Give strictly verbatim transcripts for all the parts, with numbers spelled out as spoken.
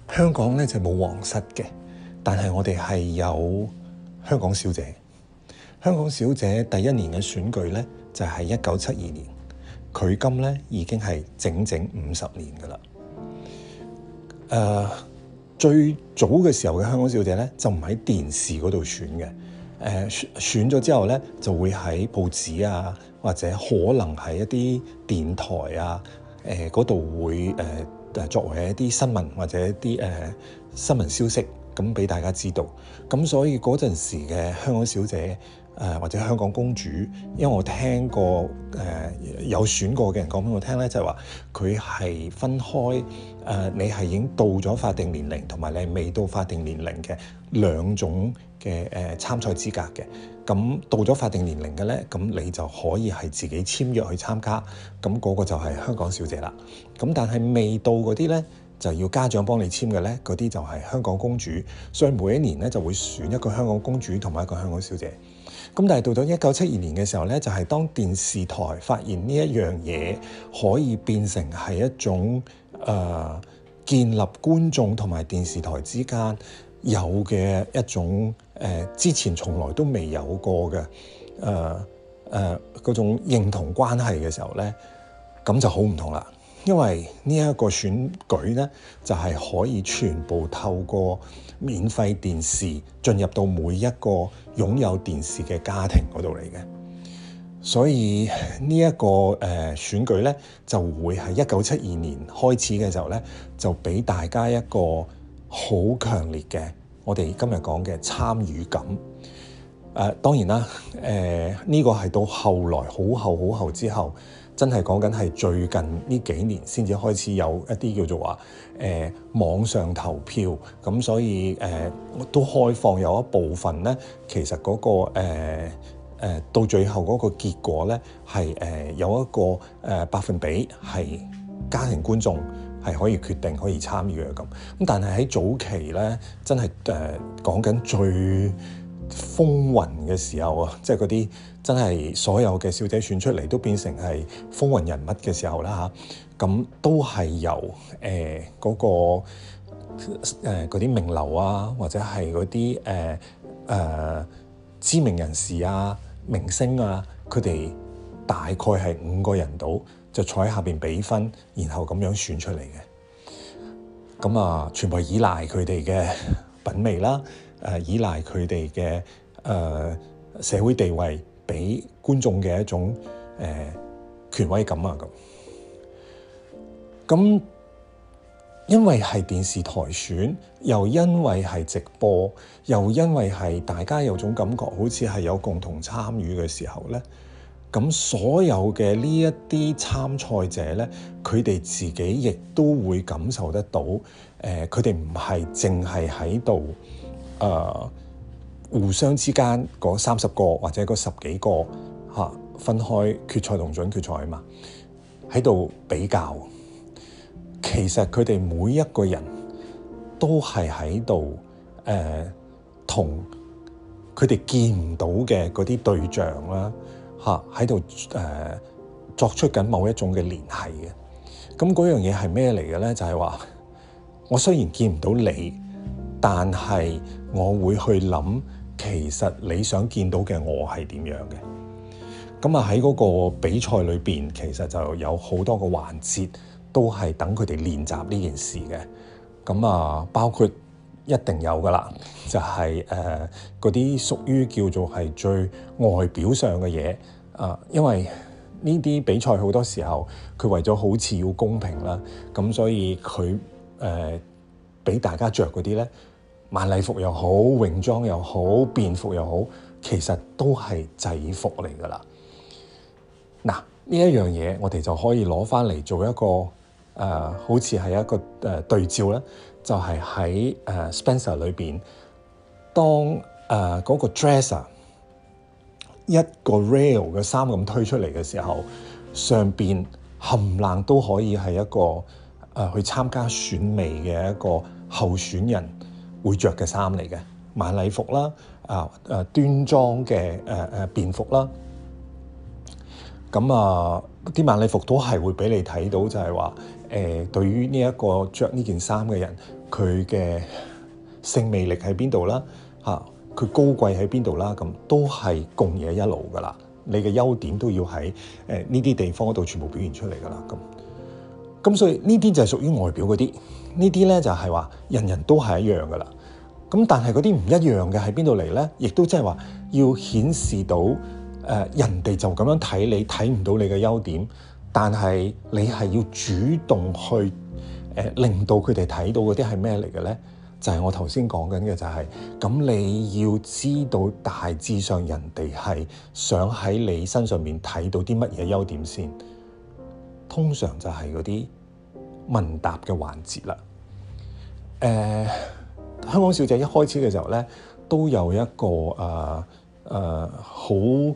香港咧就冇皇室嘅，但係我哋係有香港小姐。香港小姐第一年嘅選舉咧就係一九七二年，距今咧已經係整整五十年噶啦。誒、呃，最早嘅時候嘅香港小姐咧就唔喺電視嗰度選嘅，誒、呃、選咗之後咧就會喺報紙啊，或者可能係一啲電台啊，誒嗰度會誒。呃作為一啲新聞或者一啲誒、呃、新聞消息咁俾大家知道，咁所以嗰陣時嘅香港小姐誒、呃、或者香港公主，因為我聽過誒、呃、有選過嘅人講俾我聽咧，就係話佢係分開誒、呃，你係已經到咗法定年齡，同埋你係未到法定年齡嘅兩種嘅誒、呃、參賽資格嘅。咁到咗法定年齡嘅咧，咁你就可以係自己簽約去參加，咁、那、嗰個就係香港小姐啦。咁但係未到嗰啲咧，就要家長幫你簽嘅咧，嗰啲就係香港公主。所以每一年咧就會選一個香港公主同埋一個香港小姐。咁但係到咗一九七二年嘅時候咧，就係、是、當電視台發現呢一樣嘢可以變成係一種誒、呃、建立觀眾同埋電視台之間有嘅一種誒、呃、之前從來都未有過嘅誒誒嗰種認同關係嘅時候咧，咁就好唔同啦。因為呢一個選舉咧，就係、是、可以全部透過免費電視進入到每一個擁有電視嘅家庭嗰度嚟嘅。所以呢、這、一個誒、呃、選舉咧，就會係一九七二年開始嘅時候咧，就俾大家一個好強烈嘅，我哋今日講嘅參與感。誒、呃、當然啦，誒、呃、呢、這個係到後來好後好後之後，真係講緊係最近呢幾年先至開始有一啲叫做話誒、呃、網上投票，咁所以誒、呃、都開放有一部分咧，其實嗰、那個誒、呃呃、到最後嗰個結果咧係誒有一個誒、呃、百分比係家庭觀眾係可以決定可以參與嘅咁，咁但係喺早期咧，真係誒講緊最風雲嘅時候啊，即係嗰啲真係所有嘅小姐選出嚟都變成係風雲人物嘅時候啦嚇，咁都係由誒嗰個誒嗰啲名流啊，或者係嗰啲誒誒知名人士啊、明星啊，佢哋大概係五個人到，就坐喺下邊俾分，然後咁樣選出嚟嘅。咁啊，全部係依賴佢哋嘅品味啦，誒、呃、依賴佢哋嘅誒社會地位，俾觀眾嘅一種誒、呃、權威感啊咁。咁因為係電視台選，又因為係直播，又因為係大家有種感覺，好似係有共同參與嘅時候咧。咁所有嘅呢一啲參賽者咧，佢哋自己亦都會感受得到，誒佢哋唔係淨係喺度誒互相之間嗰三十個或者嗰十幾個嚇、啊、分開決賽同準決賽啊嘛，喺度比較。其實佢哋每一個人都係喺度誒同佢哋見唔到嘅嗰啲對象啦。嚇喺度誒作出緊某一種嘅聯繫嘅，咁嗰樣嘢係咩嚟嘅咧？就係話我雖然見唔到你，但係我會去諗，其實你想見到嘅我係點樣嘅。咁啊喺嗰個比賽裏邊，其實就有好多個環節都係等佢哋練習呢件事嘅。咁啊，包括一定有噶啦，就係誒嗰啲屬於叫做係最外表上嘅嘢啊，因為呢啲比賽好多時候佢為咗好似要公平啦，咁所以佢誒俾大家着嗰啲咧，晚禮服又好，泳裝又好，便服又好，其實都係制服嚟噶啦。嗱，呢一樣嘢我哋就可以攞翻嚟做一個誒、呃，好似係一個誒、呃、對照咧。就係喺誒 Spencer 裏邊，當誒嗰、呃那個 dresser 一個 rail 嘅衫咁推出嚟嘅時候，上邊冚唪唥都可以係一個誒、呃、去參加選美嘅一個候選人會着嘅衫嚟嘅，晚禮服啦，啊誒端莊嘅誒誒便服啦，咁啊啲晚禮服都係會俾你睇到就，就係話。誒、呃，對於呢一個着呢件衫嘅人， 佢嘅性魅力喺邊度啦，嚇佢高貴喺邊度啦，咁都係共冶一爐噶啦。你嘅優點都要喺誒呢啲地方嗰度全部表現出嚟噶啦。咁咁所以呢啲就係屬於外表嗰啲，呢啲咧就係話人人都係一樣噶啦。咁但係嗰啲唔一樣嘅喺邊度嚟咧？亦都即係話要顯示到誒、呃、人哋就咁樣睇你，睇唔到你嘅優點，但係你係要主動去誒、呃、令到佢哋睇到嗰啲係咩嚟嘅咧？就係、是、我頭先講緊嘅就係、是、咁，你要知道大致上人哋係想喺你身上面睇到啲乜嘢優點先。通常就係嗰啲問答嘅環節啦。誒、呃。香港小姐一開始嘅時候咧，都有一個誒誒好誒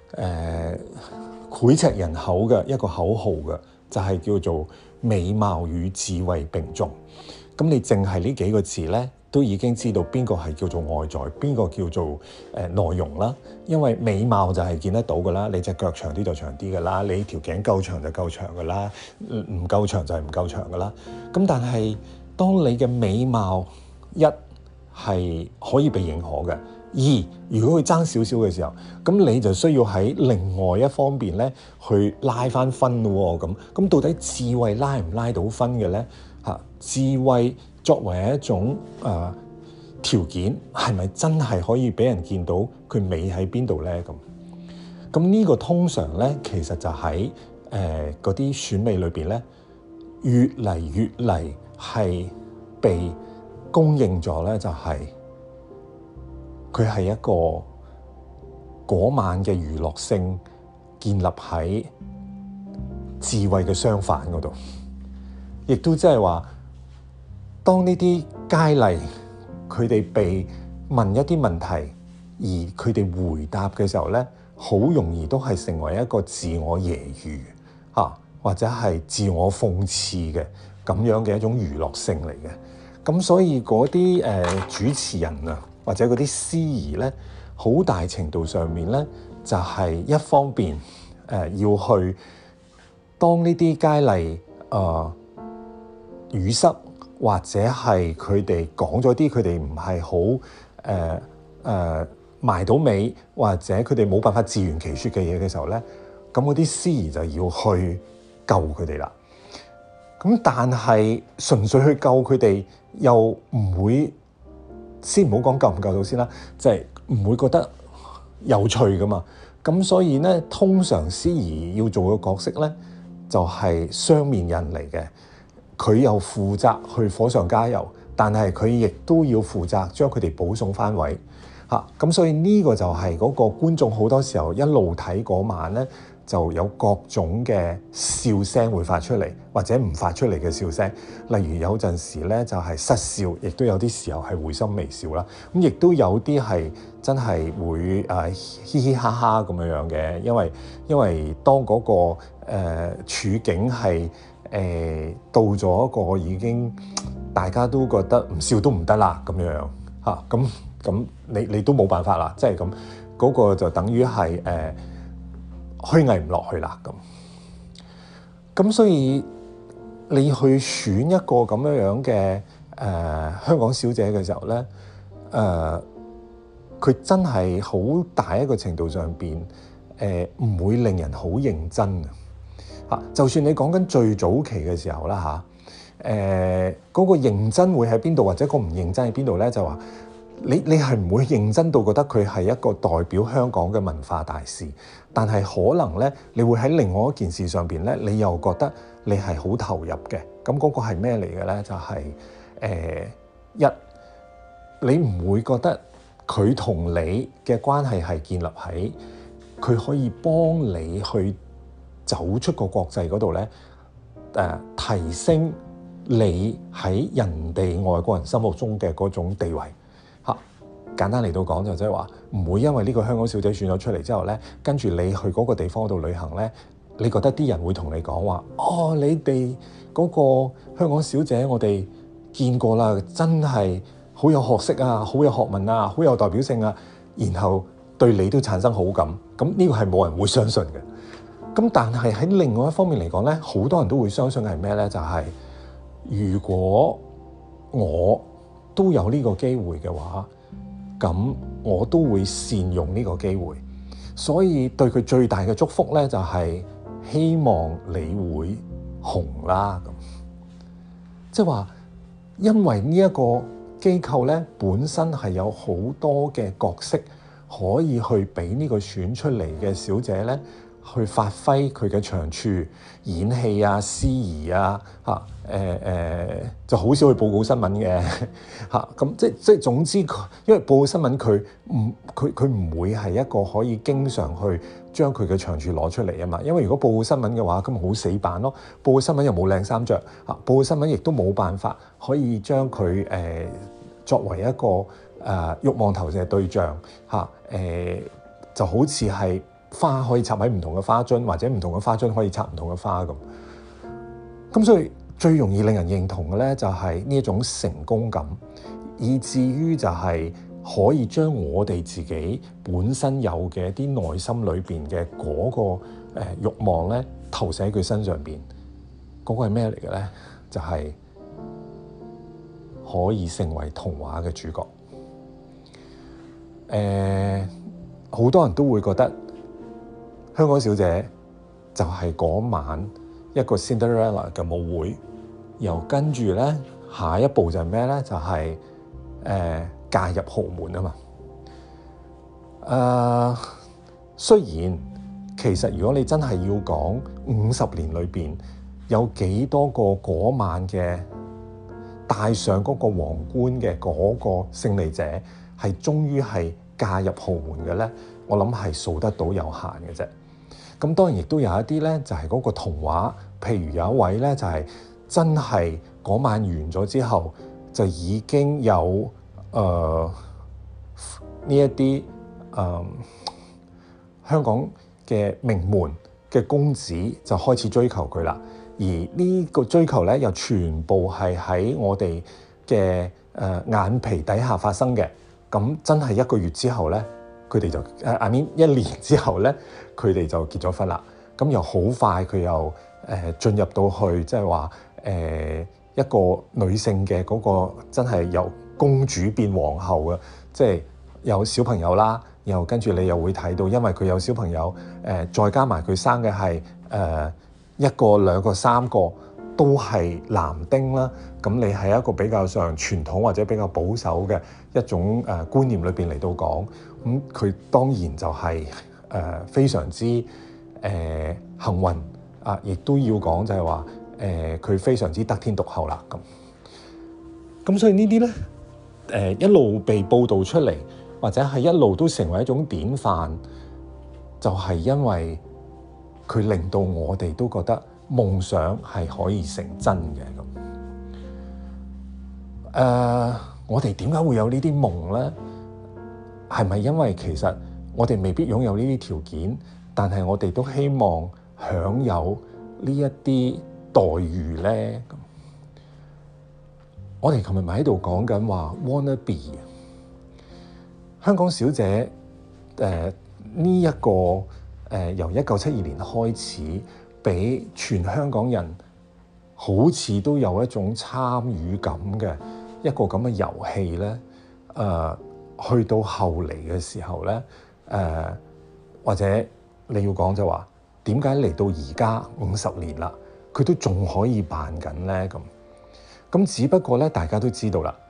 膾炙人口嘅一個口號嘅，就係、是、叫做美貌與智慧並重。咁你淨係呢幾個字咧，都已經知道邊個係叫做外在，邊個叫做誒、呃、內容啦。因為美貌就係見得到㗎啦，你隻腳長啲就長啲㗎啦，你條頸夠長就夠長㗎啦，唔夠長就係唔夠長㗎啦。咁但係當你嘅美貌一係可以被認可嘅，二如果佢爭少少嘅時候，咁你就需要喺另外一方面咧去拉翻分咯。咁咁到底智慧拉唔拉到分嘅咧？嚇，智慧作為一種誒、呃、條件，係咪真係可以俾人見到佢美喺邊度咧？咁咁呢個通常咧，其實就喺誒嗰啲選美裏邊咧，越嚟越嚟係被公認咗咧，就係佢係一個嗰晚嘅娛樂性建立喺智慧嘅相反嗰度，亦都即係話，當呢啲佳麗佢哋被問一啲問題，而佢哋回答嘅時候咧，好容易都係成為一個自我揶揄嚇，或者係自我諷刺嘅咁樣嘅一種娛樂性嚟嘅。咁所以嗰啲誒主持人啊，或者嗰啲司儀咧，好大程度上面咧，就係、是、一方面誒、呃、要去當呢啲佳麗誒語塞，或者係佢哋講咗啲佢哋唔係好誒誒埋到尾，或者佢哋冇辦法自圓其說嘅嘢嘅時候咧，咁嗰啲司儀就要去救佢哋啦。咁但係純粹去救佢哋，又唔會先唔好講救唔救到先啦，即係唔會覺得有趣噶嘛。咁所以咧，通常司儀要做嘅角色咧，就係雙面人嚟嘅。佢又負責去火上加油，但係佢亦都要負責將佢哋保送翻位嚇。咁所以呢個就係嗰個觀眾好多時候一路睇嗰晚咧，就有各種嘅笑聲會發出嚟，或者唔發出嚟嘅笑聲。例如有陣時咧就係失笑，亦都有啲時候係會心微笑啦。咁亦都有啲係真係會誒嘻嘻哈哈咁樣樣嘅，因為因為當嗰個誒處境係誒到咗一個已經大家都覺得唔笑都唔得啦咁樣嚇，咁咁你你都冇辦法啦，即係咁嗰個就等於係誒虛偽唔落去啦咁。咁所以你去選一個咁樣樣嘅誒香港小姐嘅時候咧，誒佢真係好大一個程度上邊誒唔會令人好認真啊！嚇，就算你講緊最早期嘅時候啦嚇，誒嗰個認真會喺邊度，或者個唔認真喺邊度咧？就話你你係唔會認真到覺得佢係一個代表香港嘅文化大使，但係可能咧，你會喺另外一件事上邊咧，你又覺得你係好投入嘅。咁嗰個係咩嚟嘅咧？就係、是、誒、呃、一，你唔會覺得佢同你嘅關係係建立喺佢可以幫你去走出個國際嗰度咧，誒、呃、提升你喺人哋外國人心目中嘅嗰種地位嚇。簡單嚟到講就即係話，唔會因為呢個香港小姐選咗出嚟之後咧，跟住你去嗰個地方度旅行咧，你覺得啲人會同你講話，哦，你哋嗰個香港小姐我哋見過啦，真係好有學識啊，好有學問啊，好有代表性啊，然後對你都產生好感。咁呢個係冇人會相信嘅。咁但係喺另外一方面嚟講咧，好多人都會相信係咩咧？就係、是、如果我都有呢個機會嘅話，咁我都會善用呢個機會。所以對佢最大嘅祝福咧，就係希望你會紅啦。咁即係話，因為呢一個機構咧本身係有好多嘅角色可以去俾呢個選出嚟嘅小姐咧去發揮佢嘅長處，演戲啊、司儀啊，嚇誒誒就好少去報告新聞嘅嚇。咁即即總之佢，因為報告新聞佢唔佢佢唔會係一個可以經常去將佢嘅長處攞出嚟啊嘛。因為如果報告新聞嘅話，咁咪好死板咯。報告新聞又冇靚衫着，嚇，報告新聞亦都冇辦法可以將佢誒、呃、作為一個誒、呃、慾望投射對象嚇誒、呃，就好似係花可以插喺唔同嘅花樽，或者唔同嘅花樽可以插唔同嘅花咁。咁所以最容易令人認同嘅咧，就係呢一種成功感，以至於就係可以將我哋自己本身有嘅一啲內心裏邊嘅嗰個誒慾望咧，投射喺佢身上邊。嗰、嗰個係咩嚟嘅咧？就係、是、可以成為童話嘅主角。誒、呃，好多人都會覺得香港小姐就係嗰晚一個 Cinderella 嘅舞會，又跟住咧下一步就係咩咧？就係、是、誒、呃、嫁入豪門啊嘛。誒、呃，雖然其實如果你真係要講五十年裏邊有幾多個嗰晚嘅戴上嗰個皇冠嘅嗰個勝利者係終於係嫁入豪門嘅咧，我諗係數得到有限嘅啫。咁當然亦都有一啲咧，就係嗰個童話，譬如有一位咧，就係真係嗰晚完咗之後，就已經有誒呢一啲誒香港嘅名門嘅公子就開始追求佢啦。而呢個追求咧，又全部係喺我哋嘅誒眼皮底下發生嘅。咁真係一個月之後咧，佢哋就誒 I mean 一年之後咧，佢哋就結咗婚啦。咁又好快，佢又誒進入到去，即係話誒一個女性嘅嗰個真係由公主變皇后嘅，即係有小朋友啦。然後跟住你又會睇到，因為佢有小朋友，誒再加埋佢生嘅係誒一個、兩個、三個都係男丁啦。咁你係一個比較上傳統或者比較保守嘅一種誒觀念裏邊嚟到講，咁佢當然就係誒非常之誒幸運啊！亦都要講就係話誒佢非常之得天獨厚啦。咁咁所以呢啲咧誒一路被報導出嚟，或者係一路都成為一種典範，就係因為佢令到我哋都覺得夢想係可以成真嘅咁。誒、uh，我哋點解會有呢啲夢咧？係咪因為其實我哋未必擁有呢啲條件，但係我哋都希望享有呢一啲待遇咧？咁我哋琴日咪喺度講緊話 wanna be 香港小姐誒呢一個誒、呃、由一九七二年開始，俾全香港人好似都有一種參與感嘅一個咁嘅遊戲咧。誒、呃、去到後嚟嘅時候咧，誒、呃、或者你要講就話點解嚟到而家五十年啦，佢都仲可以辦緊咧？咁咁只不過咧，大家都知道啦。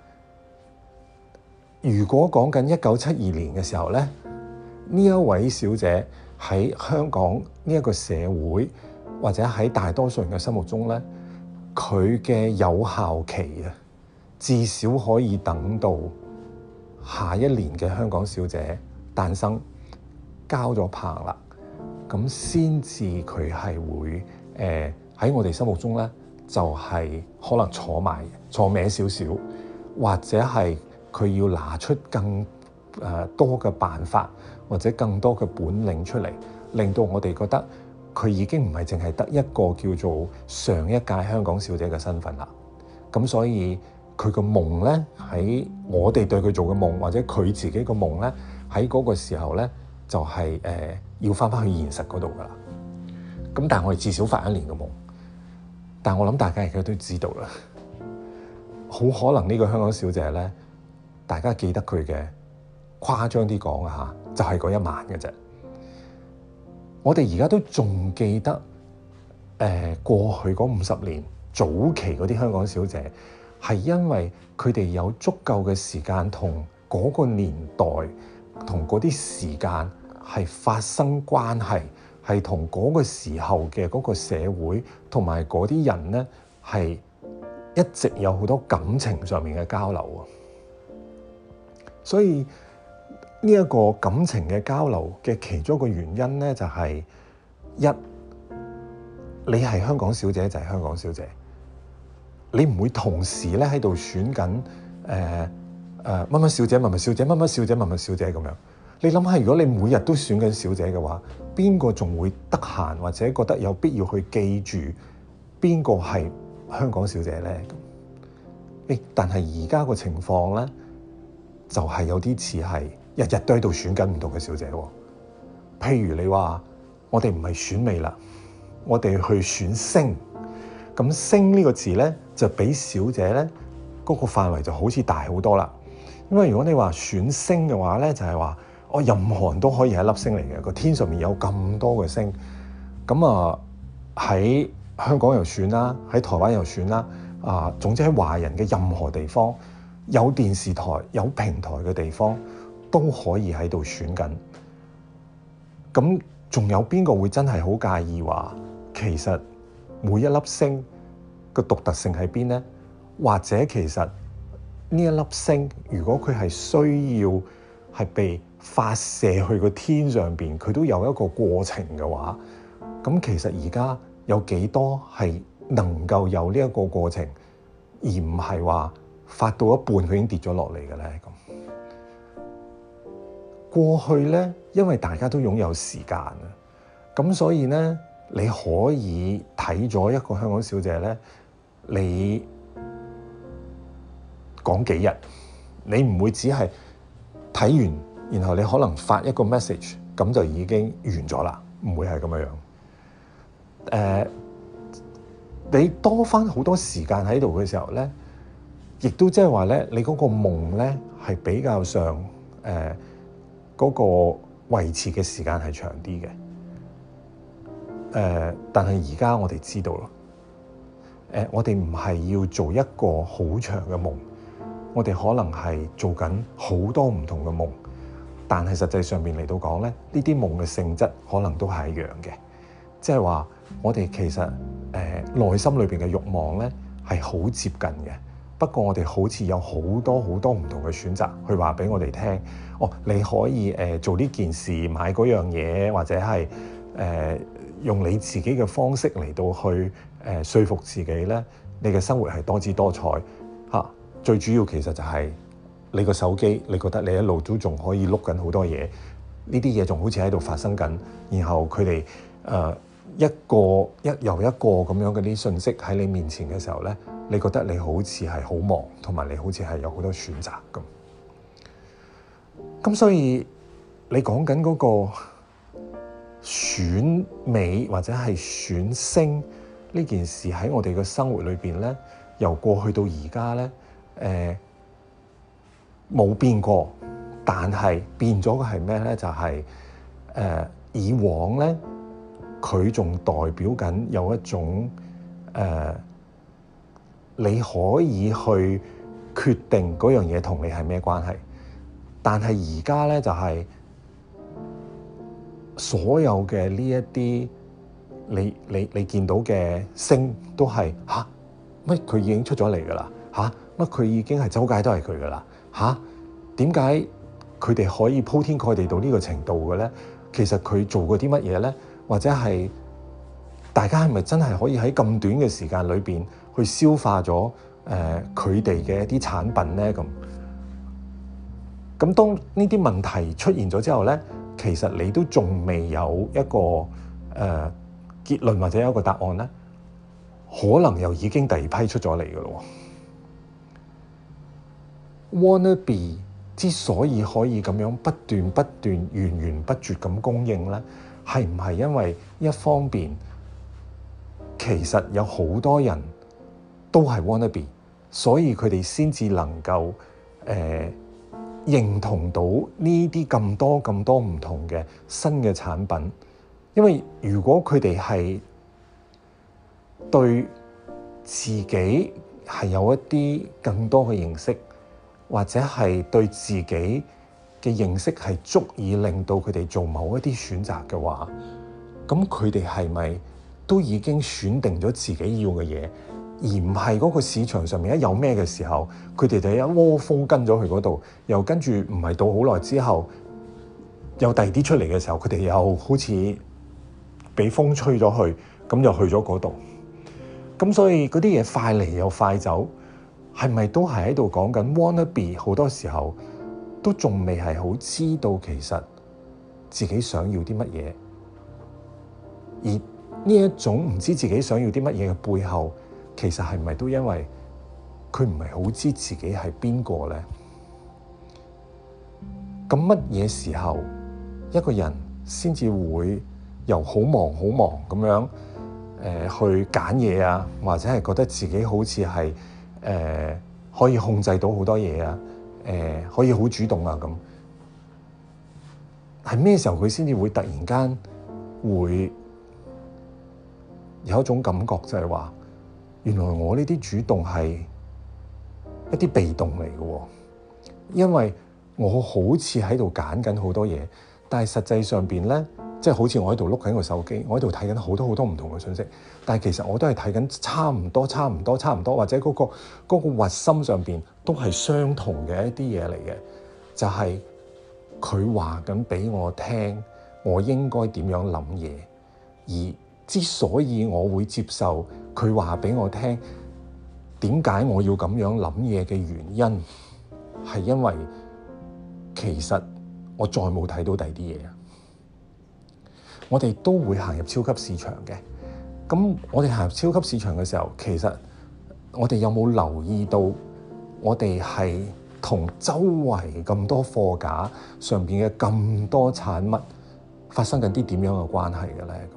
如果講緊一九七二年嘅時候咧，呢一位小姐喺香港呢一個社會，或者喺大多數人嘅心目中咧，佢嘅有效期啊，至少可以等到下一年嘅香港小姐誕生，交咗棒啦，咁先至佢係會誒喺我哋心目中咧，就係、是、可能坐埋坐歪少少，或者係。佢要拿出更誒多嘅辦法，或者更多嘅本領出嚟，令到我哋覺得佢已經唔係淨係得一個叫做上一屆香港小姐嘅身份啦。咁所以佢個夢咧，喺我哋對佢做嘅夢，或者佢自己個夢咧，喺嗰個時候咧，就係、是、誒、呃、要翻返去現實嗰度噶啦。咁但係我哋至少發一年嘅夢，但係我諗大家而家都知道啦。 好可能呢個香港小姐咧，大家記得佢嘅誇張啲講啊嚇，就係、是、嗰一晚嘅啫。我哋而家都仲記得誒、呃、過去嗰五十年早期嗰啲香港小姐，係因為佢哋有足夠嘅時間同嗰個年代同嗰啲時間係發生關係，係同嗰個時候嘅嗰個社會同埋嗰啲人咧係一直有好多感情上面嘅交流啊。所以呢一個感情嘅交流嘅其中一個原因咧，就係一，你係香港小姐就係香港小姐，你唔會同時咧喺度選緊誒誒乜乜小姐、乜乜小姐、乜乜小姐、乜乜小姐咁樣。你諗下，如果你每日都選緊小姐嘅話，邊個仲會得閒或者覺得有必要去記住邊個係香港小姐咧？誒，但係而家個情況咧，就係有啲似係日日都喺度選緊唔同嘅小姐喎。譬如你話我哋唔係選美啦，我哋去選星。咁星呢個字咧，就比小姐咧嗰個範圍就好似大好多啦。因為如果你話選星嘅話咧，就係話我任何人都可以係一粒星嚟嘅，個天上面有咁多嘅星。咁啊喺香港又選啦，喺台灣又選啦。啊，總之喺華人嘅任何地方，有電視台、有平台嘅地方都可以喺度選緊。咁仲有邊個會真係好介意話，其實每一粒星個獨特性喺邊呢？或者其實呢一粒星，如果佢係需要係被發射去個天上邊，佢都有一個過程嘅話，咁其實而家有幾多係能夠有呢一個過程，而唔係話發到一半佢已經跌咗落嚟嘅咧？咁過去咧，因為大家都擁有時間啊，咁所以咧，你可以睇咗一個香港小姐咧，你講幾日，你唔會只係睇完，然後你可能發一個 message，咁就已經完咗啦，唔會係咁樣樣。誒、呃，你多翻好多時間喺度嘅時候咧，亦都即係話咧，你嗰個夢咧係比較上誒嗰、呃嗰個維持嘅時間係長啲嘅。誒、呃，但係而家我哋知道咯，誒、呃，我哋唔係要做一個好長嘅夢，我哋可能係做緊好多唔同嘅夢，但係實際上面嚟到講咧，呢啲夢嘅性質可能都係一樣嘅，即係話我哋其實誒、呃、內心裏邊嘅慾望咧係好接近嘅，不過我哋好似有好多好多唔同嘅選擇去話俾我哋聽，哦，你可以誒、呃、做呢件事，買嗰樣嘢，或者係誒、呃、用你自己嘅方式嚟到去誒、呃、說服自己咧，你嘅生活係多姿多彩嚇、啊。最主要其實就係你個手機，你覺得你一路都仲可以碌緊好多嘢，呢啲嘢仲好似喺度發生緊，然後佢哋誒一個一又一個咁樣嘅啲信息喺你面前嘅時候咧，你覺得你好似係好忙，同埋你好似係有好多選擇咁。咁所以你講緊嗰個選美或者係選星呢件事喺我哋嘅生活裏邊咧，由過去到而家咧，誒冇變過，但係變咗嘅係咩咧？就係、是、誒、呃、以往咧，佢仲代表緊有一種誒、呃，你可以去決定嗰樣嘢同你係咩關係，但係而家咧就係、是、所有嘅呢一啲你你你見到嘅星都係嚇乜佢已經出咗嚟㗎啦嚇。乜佢已經係周街都係佢噶啦嚇？點解佢哋可以鋪天蓋地到呢個程度嘅咧？其實佢做過啲乜嘢咧？或者係大家係咪真係可以喺咁短嘅時間裏邊去消化咗誒佢哋嘅一啲產品咧？咁咁當呢啲問題出現咗之後咧，其實你都仲未有一個誒、呃、結論或者有一個答案咧，可能又已經第二批出咗嚟噶咯。Wannabe 之所以可以咁樣不斷不斷源源不絕咁供應咧，係唔係因為一方面其實有好多人都係 Wannabe， 所以佢哋先至能夠誒、呃、認同到呢啲咁多咁多唔同嘅新嘅產品。因為如果佢哋係對自己係有一啲更多嘅認識，或者係對自己嘅認識係足以令到佢哋做某一啲選擇嘅話，咁佢哋係咪都已經選定咗自己要嘅嘢，而唔係嗰個市場上面一有咩嘅時候，佢哋就一窩蜂跟咗去嗰度，又跟住唔係到好耐之後，有第二啲出嚟嘅時候，佢哋又好似俾風吹咗去，咁又去咗嗰度。咁所以嗰啲嘢快嚟又快走，係咪都係喺度講緊 wanna be？ 好多時候都仲未係好知道其實自己想要啲乜嘢，而呢一種唔知自己想要啲乜嘢嘅背後，其實係咪都因為佢唔係好知自己係邊個咧？咁乜嘢時候一個人先至會由好忙好忙咁樣誒、呃、去揀嘢啊，或者係覺得自己好似係誒可以控制到好多嘢啊，誒、呃、可以好主動啊咁，係咩時候佢先至會突然間會有一種感覺，就係話原來我呢啲主動係一啲被動嚟嘅喎，因為我好似喺度揀緊好多嘢，但係實際上邊咧，即係好似我喺度碌緊個手機，我喺度睇緊好多好多唔同嘅信息，但係其實我都係睇緊差唔多、差唔多、差唔多，或者嗰個嗰個核心上邊都係相同嘅一啲嘢嚟嘅，就係佢話緊俾我聽，我應該點樣諗嘢，而之所以我會接受佢話俾我聽，點解我要咁樣諗嘢嘅原因，係因為其實我再冇睇到第二啲嘢。我哋都會行入超級市場嘅，咁我哋行入超級市場嘅時候，其實我哋有冇留意到，我哋係同周圍咁多貨架上邊嘅咁多產物發生緊啲點樣嘅關係嘅咧？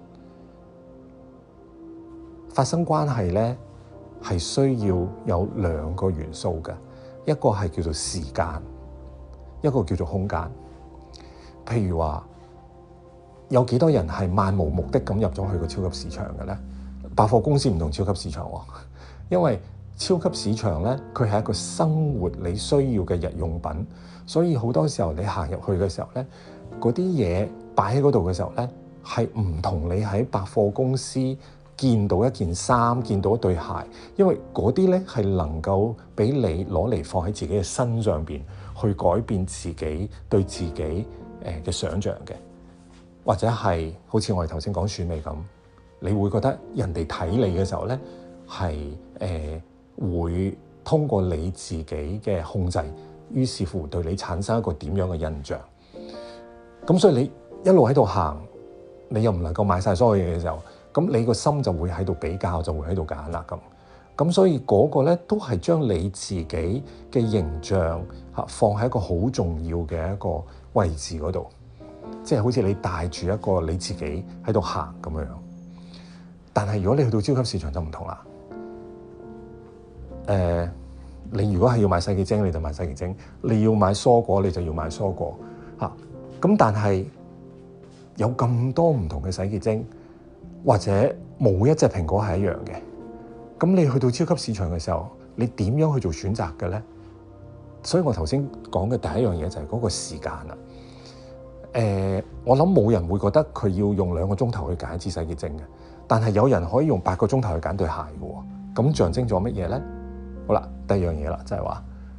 發生關係咧係需要有兩個元素嘅，一個係叫做時間，一個叫做空間。譬如話，有幾多人係漫無目的咁入咗去個超級市場嘅咧？百貨公司唔同超級市場喎，因為超級市場咧，佢係一個生活你需要嘅日用品，所以好多時候你行入去嘅時候咧，嗰啲嘢擺喺嗰度嘅時候咧，係唔同你喺百貨公司見到一件衫、見到一對鞋，因為嗰啲咧係能夠俾你攞嚟放喺自己嘅身上邊，去改變自己對自己誒嘅想像嘅。或者係好似我哋頭先講選美咁，你會覺得人哋睇你嘅時候咧，係誒、呃、會通過你自己嘅控制，於是乎對你產生一個點樣嘅印象。咁所以你一路喺度行，你又唔能夠買晒所有嘢嘅時候，咁你個心就會喺度比較，就會喺度揀啦咁。咁所以嗰個咧都係將你自己嘅形象嚇放喺一個好重要嘅一個位置嗰度。即係好似你帶住一個你自己喺度行咁樣，但係如果你去到超級市場就唔同啦。誒、呃，你如果係要買洗潔精，你就買洗潔精；你要買蔬果，你就要買蔬果。嚇、啊，咁但係有咁多唔同嘅洗潔精，或者冇一隻蘋果係一樣嘅。咁你去到超級市場嘅時候，你點樣去做選擇嘅咧？所以我頭先講嘅第一樣嘢就係嗰個時間啦。誒、呃，我諗冇人會覺得佢要用兩個鐘頭去揀一支洗潔精嘅，但係有人可以用八個鐘頭去揀對鞋嘅喎。咁象徵咗乜嘢咧？好啦，第二樣嘢啦，就係話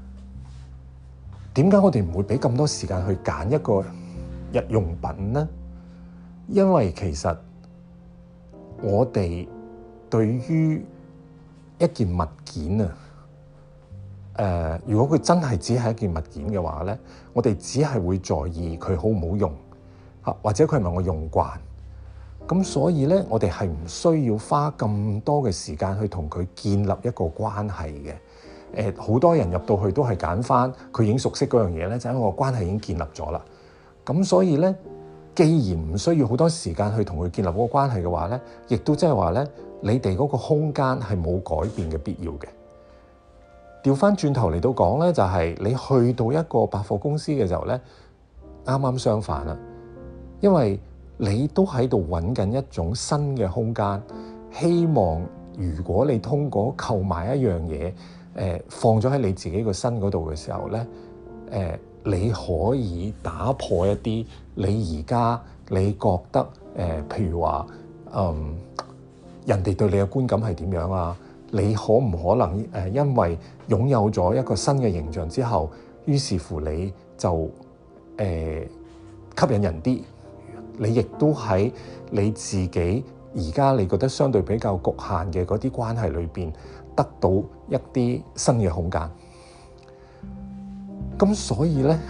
點解我哋唔會俾咁多時間去揀一個日用品咧？因為其實我哋對於一件物件啊，誒、呃，如果佢真係只係一件物件嘅話咧，我哋只係會在意佢好唔好用嚇，或者佢係咪我用慣。咁所以咧，我哋係唔需要花咁多嘅時間去同佢建立一個關係嘅。誒、呃，好多人入到去都係揀翻佢已經熟悉嗰樣嘢咧，就係因為個關係已經建立咗啦。咁所以咧，既然唔需要好多時間去同佢建立嗰個關係嘅話咧，亦都即係話咧，你哋嗰個空間係冇改變嘅必要嘅。 調翻轉頭嚟到講咧，就係、是、你去到一個百貨公司嘅時候咧，啱啱相反啦，因為你都喺度揾緊一種新嘅空間，希望如果你通過購買一樣嘢，誒、呃、放咗喺你自己個身嗰度嘅時候咧，誒、呃、你可以打破一啲你而家你覺得誒、呃，譬如話，嗯，人哋對你嘅觀感係點樣啊？你可唔可能誒、呃，因為擁有咗一個新嘅形象之後，於是乎你就誒、呃、吸引人啲？你亦都喺你自己而家你覺得相對比較局限嘅嗰啲關係裏邊，得到一啲新嘅空間。咁所以咧，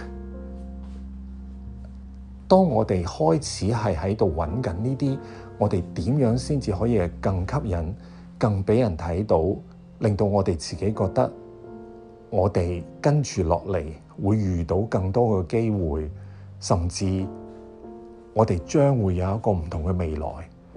當我哋開始係喺度揾緊呢啲，我哋點樣先至可以更吸引、更俾人睇到，令到我哋自己覺得我哋跟住落嚟會遇到更多嘅機會，甚至我哋將會有一個唔同嘅未來，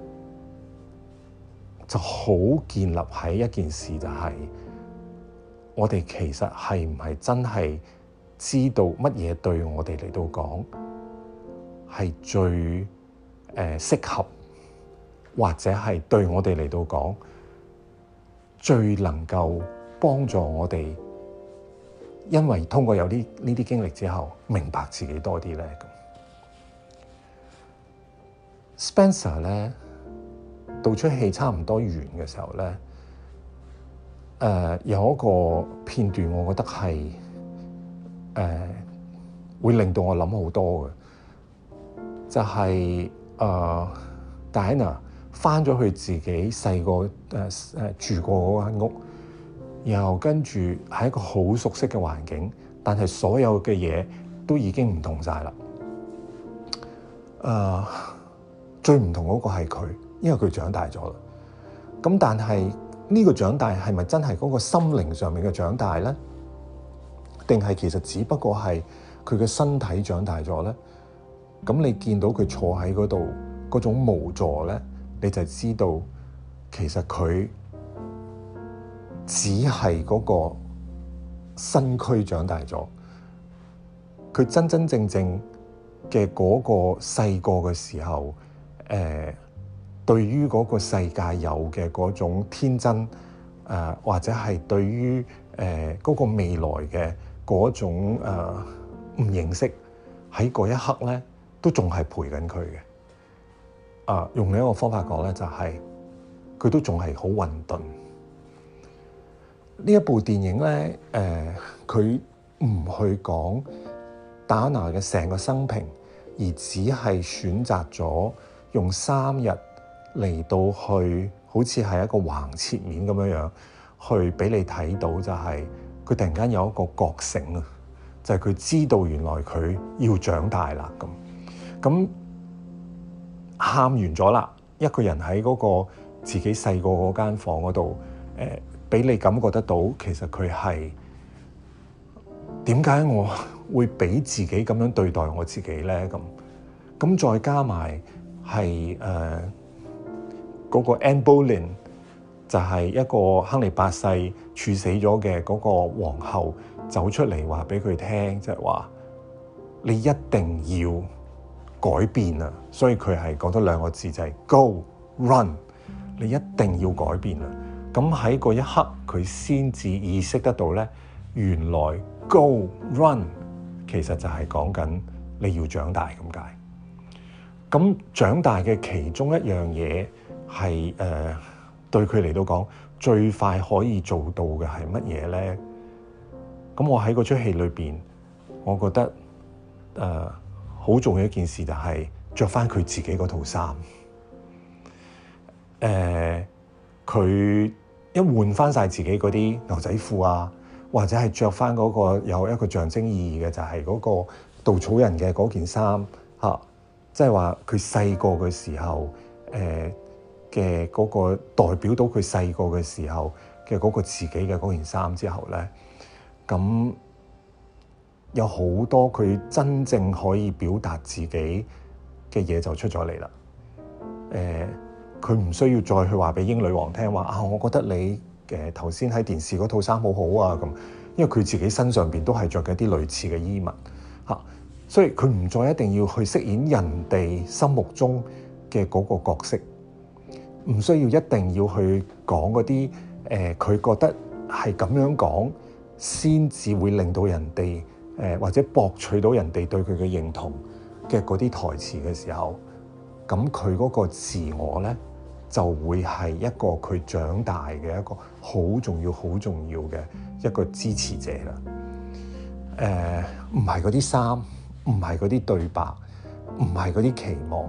就好建立喺一件事，就係我哋其實係唔係真係知道乜嘢對我哋嚟到講係最誒、呃、適合，或者係對我哋嚟到講最能夠幫助我哋，因為通過有啲呢啲經歷之後，明白自己多啲咧。Spencer 咧，到出戲差唔多完嘅時候咧，誒、呃、有一個片段，我覺得係誒、呃、會令到我諗好多嘅，就係誒 Diana 返咗去自己細個誒誒住過嗰間屋，然後跟住係一個好熟悉嘅環境，但係所有嘅嘢都已經唔同晒啦。誒、呃。最唔同嗰個係佢，因為佢長大咗啦。咁但係呢個長大係咪真係嗰個心靈上面嘅長大咧？定係其實只不過係佢嘅身體長大咗咧？咁你見到佢坐喺嗰度嗰種無助咧，你就知道其實佢只係嗰個身軀長大咗，佢真真正正嘅嗰個細個嘅時候。誒、呃，對於嗰個世界有嘅嗰種天真，誒、呃、或者係對於誒嗰個未來嘅嗰種誒唔、呃、認識，喺嗰一刻咧，都仲係陪緊佢嘅。啊、呃，用另一個方法講咧，就係、是、佢都仲係好混沌。呢一部電影咧，誒、呃，佢唔去講戴安娜嘅成個生平，而只係選擇咗。用三日嚟到去，好似係一個橫切面咁樣樣，去俾你睇到就係佢突然間有一個覺醒啊！就係佢知道原來佢要長大啦咁。咁喊完咗啦，一個人喺嗰個自己細個嗰間房嗰度，誒、呃，俾你感覺得到，其實佢係點解我會俾自己咁樣對待我自己咧？咁咁再加埋。係誒嗰個 Anne Boleyn 就係一個亨利八世處死咗嘅嗰個皇后走出嚟話俾佢聽，就係話你一定要改變啊！所以佢係講咗兩個字就係 Go Run，你一定要改變啊！咁喺嗰一刻佢先至意識得到咧，原來 Go Run 其實就係講緊你要長大咁解。咁長大嘅其中一樣嘢係誒對佢嚟到講最快可以做到嘅係乜嘢咧？咁我喺嗰出戲裏邊，我覺得誒好、呃、重要一件事就係着翻佢自己嗰套衫。誒、呃，佢一換翻晒自己嗰啲牛仔褲啊，或者係着翻嗰個有一個象徵意義嘅，就係嗰個稻草人嘅嗰件衫嚇。即係話佢細個嘅時候，誒嘅嗰個代表到佢細個嘅時候嘅嗰個自己嘅嗰件衫之後咧，咁有好多佢真正可以表達自己嘅嘢就出咗嚟啦。誒、呃，佢唔需要再去話俾英女王聽話啊，我覺得你誒頭先喺電視嗰套衫好好啊咁，因為佢自己身上邊都係着緊啲類似嘅衣物嚇、啊，所以佢唔再一定要去飾演人哋心目中嘅嗰個角色，唔需要一定要去講嗰啲誒佢覺得係咁樣講先至會令到人哋誒、呃、或者博取到人哋對佢嘅認同嘅嗰啲台詞嘅時候，咁佢嗰個自我咧就會係一個佢長大嘅一個好重要、好重要嘅一個支持者啦。誒、呃，唔係嗰啲衫，唔係嗰啲對白，唔係嗰啲期望。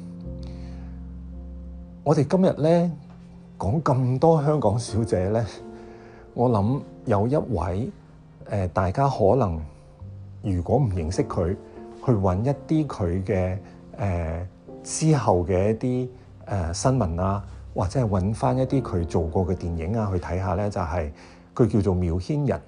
我哋今日咧講咁多香港小姐咧，我諗有一位誒、呃，大家可能如果唔認識佢，去揾一啲佢嘅誒之後嘅一啲誒、呃、新聞啊，或者係揾翻一啲佢做過嘅電影啊去睇下咧，就係、是、佢叫做繆騫人。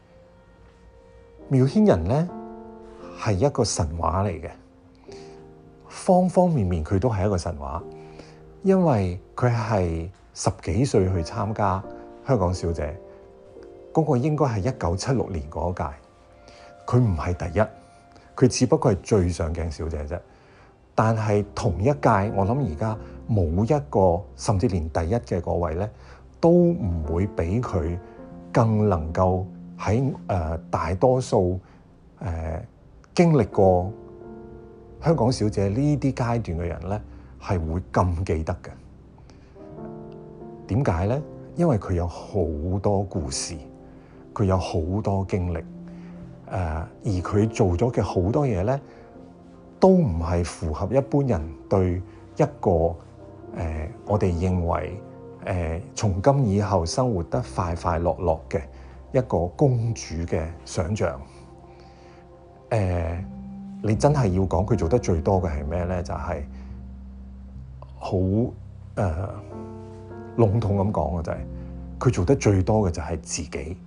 繆騫人咧係一個神話嚟嘅，方方面面佢都係一個神話，因為佢係十幾歲去參加香港小姐，嗰、那個應該係一九七六年嗰屆，佢唔係第一，佢只不過係最上鏡小姐啫。但係同一屆，我諗而家冇一個，甚至連第一嘅嗰位咧，都唔會比佢更能夠喺誒、呃、大多數誒、呃、經歷過香港小姐呢啲階段嘅人咧，係會咁記得嘅。點解咧？因為佢有好多故事，佢有好多經歷，誒、呃、而佢做咗嘅好多嘢咧，都唔係符合一般人對一個誒、呃、我哋認為誒、呃、從今以後生活得快快樂樂嘅一個公主嘅想像。誒、呃，你真係要講佢做得最多嘅係咩咧？就係好誒籠統咁講嘅就係、是、佢做得最多嘅就係自己，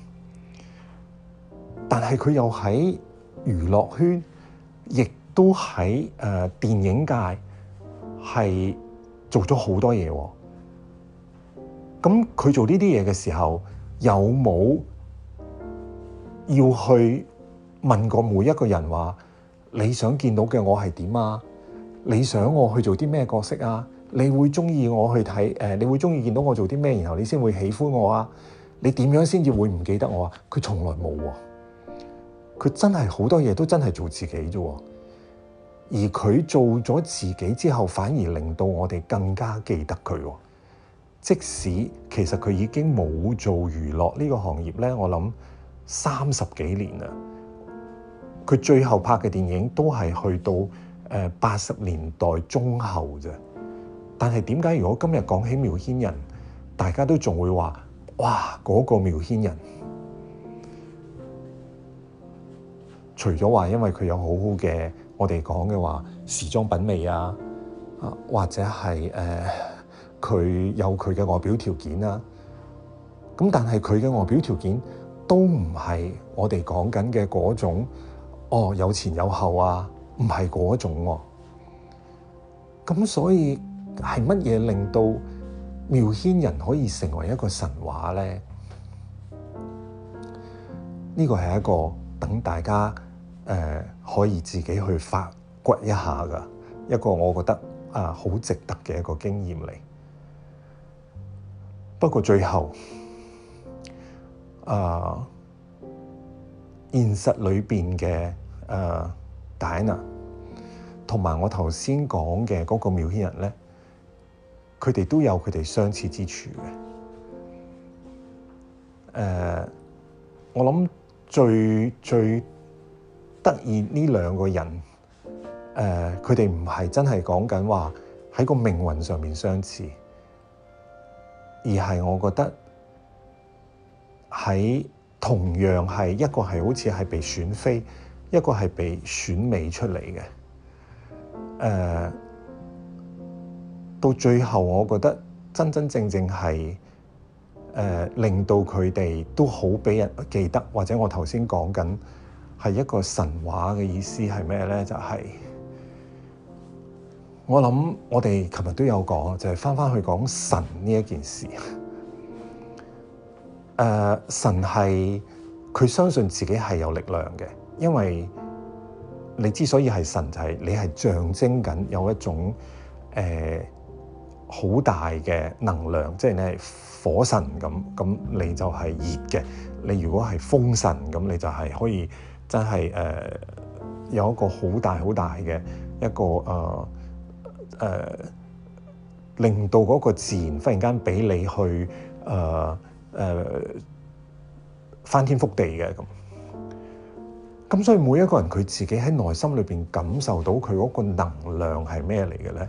但係佢又喺娛樂圈，亦都喺誒、呃、電影界係做咗好多嘢喎、哦。咁佢做呢啲嘢嘅時候，有冇要去問過每一個人話你想見到嘅我係點啊？你想我去做啲咩角色啊？你會中意我去睇誒、呃？你會中意見到我做啲咩，然後你先會喜歡我啊？你點樣先至會唔記得我啊？佢從來冇喎。佢真係好多嘢都真係做自己啫喎。而佢做咗自己之後，反而令到我哋更加記得佢喎。即使其實佢已經冇做娛樂呢個行業咧，我諗三十幾年啦。佢最後拍嘅電影都係去到誒八十年代中後啫。但係點解如果今日講起繆騫人，大家都仲會話哇嗰個繆騫人？除咗話因為佢有好好嘅，我哋講嘅話時裝品味啊，啊或者係誒佢有佢嘅外表條件啊，咁但係佢嘅外表條件都唔係我哋講緊嘅嗰種，哦有前有後啊，唔係嗰種喎、啊。咁所以係乜嘢令到繆騫人可以成為一個神話咧？呢個係一個等大家誒、呃、可以自己去發掘一下嘅一個，我覺得啊好值得嘅一個經驗嚟。不過最後啊，現實裏邊嘅誒戴安娜同埋我頭先講嘅嗰個繆騫人咧，佢哋都有佢哋相似之處嘅。誒、呃，我諗最最得意呢兩個人，誒，佢哋唔係真係講緊話喺個命運上面相似，而係我覺得喺同樣係一個係好似係被選妃，一個係被選美出嚟嘅。誒、呃，到最後我覺得真真正正係誒、呃、令到佢哋都好俾人記得，或者我頭先講緊係一個神話嘅意思係咩咧？就係、是、我諗我哋琴日都有講，就係翻翻去講神呢一件事。 呃、神係佢相信自己係有力量嘅，因為你之所以係神，就係、是、你係象徵緊有一種誒好、呃、大嘅能量，即係你係火神咁，咁你就係熱嘅。你如果係風神咁，你就係可以真係誒、呃、有一個好大好大嘅一個誒誒、呃呃，令到嗰個自然忽然間俾你去誒誒、呃呃、翻天覆地嘅咁。咁所以每一個人佢自己喺內心裏邊感受到佢嗰個能量係咩嚟嘅咧？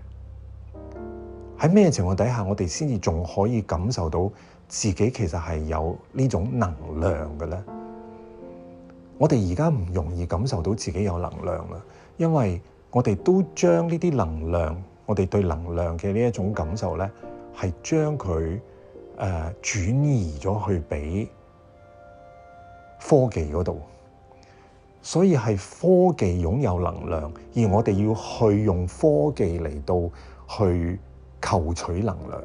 喺咩情況底下，我哋先至仲可以感受到自己其實係有呢種能量嘅咧？我哋而家唔容易感受到自己有能量啦，因為我哋都將呢啲能量，我哋對能量嘅呢一種感受咧，係將佢誒轉移咗去俾科技嗰度。所以係科技擁有能量，而我哋要去用科技嚟到去求取能量。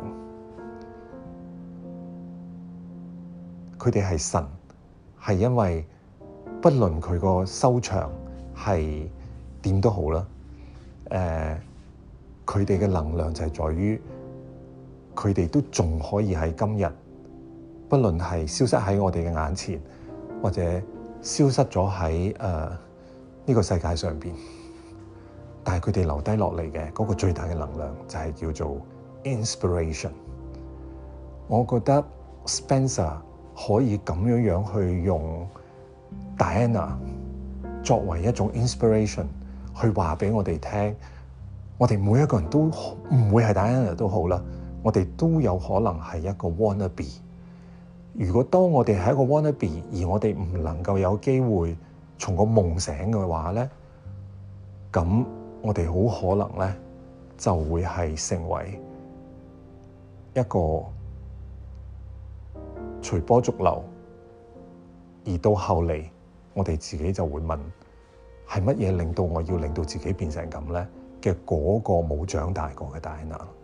佢哋係神，係因為不論佢個收場係點都好啦。誒、呃，佢哋嘅能量就係在於，佢哋都仲可以喺今日，不論係消失喺我哋嘅眼前，或者消失咗喺誒呢個世界上邊，但係佢哋留低落嚟嘅嗰個最大嘅能量就係叫做 inspiration。我覺得 Spencer 可以咁樣樣去用 Diana 作為一種 inspiration 去話俾我哋聽，我哋每一個人都唔會係 Diana 都好啦，我哋都有可能係一個 wannabe。如果當我哋係一個 wannabe，而我哋唔能夠有機會從個夢醒嘅話咧，咁我哋好可能咧就會係成為一個隨波逐流，而到後嚟我哋自己就會問，係乜嘢令到我要令到自己變成咁咧嘅嗰個冇長大過嘅 Diana。